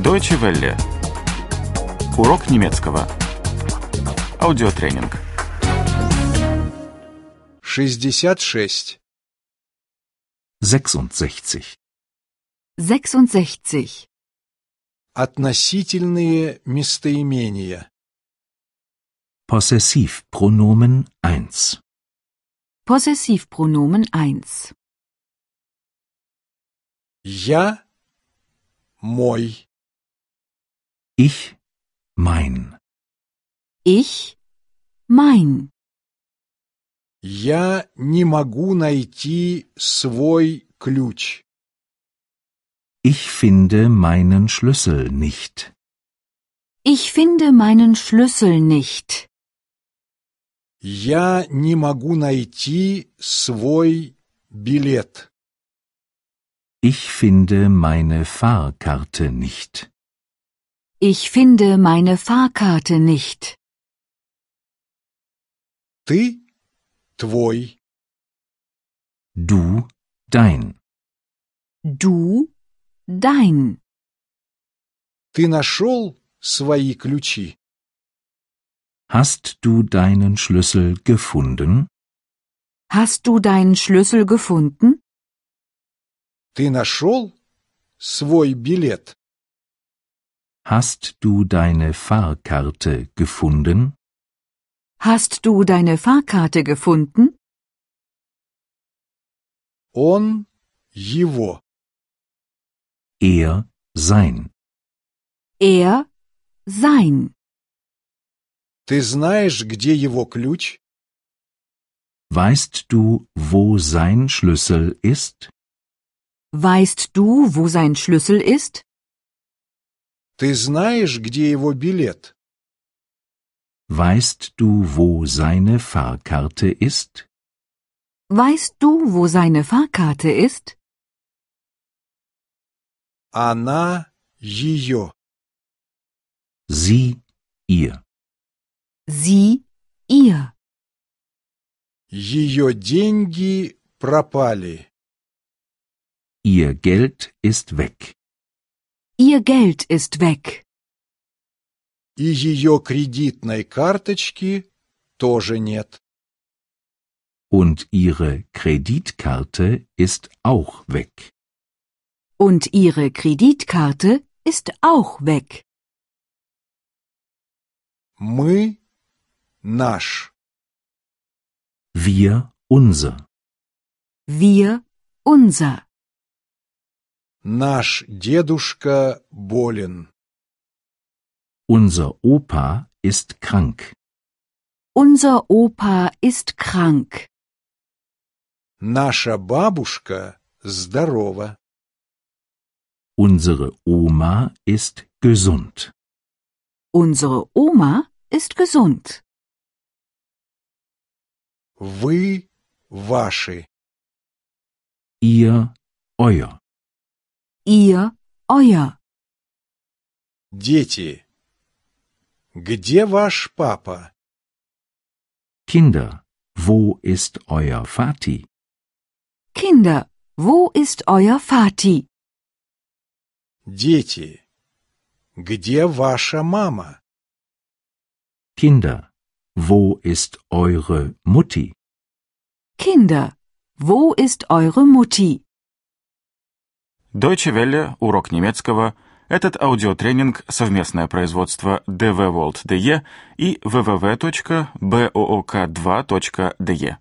Deutsche Welle. Урок немецкого. Аудиотренинг. 66. 66. 66. Относительные местоимения. Possessivpronomen 1. Possessivpronomen 1. Я, мой. Ich, mein. Ich, mein. Я не могу найти свой ключ. Ich finde meinen Schlüssel nicht. Ich finde meinen Schlüssel nicht. Я не могу найти свой билет. Ich finde meine Fahrkarte nicht. Ich finde meine Fahrkarte nicht. Ты, твой. Du, dein. Du, dein. Ты нашел свои ключи? Hast du deinen Schlüssel gefunden? Hast du deinen Schlüssel gefunden? Ты нашел свой билет? Hast du deine Fahrkarte gefunden? Hast du deine Fahrkarte gefunden? Он, его. Er, sein. Er, sein. Ты знаешь, где его ключ? Weißt du, wo sein Schlüssel ist? Weißt du, wo sein Schlüssel ist? Ты знаешь, где его билет? Weißt du, wo seine Fahrkarte ist? Weißt du, wo seine Fahrkarte ist? Она, ее. Sie, ihr. Sie, ihr. Ее деньги пропали. Ihr Geld ist weg. Ihr Geld ist weg. И ее кредитной карточки тоже нет. Und ihre Kreditkarte ist auch weg. Und ihre Kreditkarte ist auch weg. Мы, наш. Wir, unser. Wir, unser. Наш дедушка болен. Unser Opa ist krank. Unser Opa ist krank. Наша бабушка здорова. Unsere Oma ist gesund. Unsere Oma ist gesund. Вы, ваши. Ihr, euer. Ihr, euer. Дети. Где ваш папа? Kinder, wo ist euer Vati? Kinder, wo ist euer Vati? Дети. Где ваша мама? Kinder, wo ist eure Mutti? Kinder, wo ist eure Mutti? Deutsche Welle. Урок немецкого. Этот аудиотренинг – совместное производство dvworld.de и www.book2.de.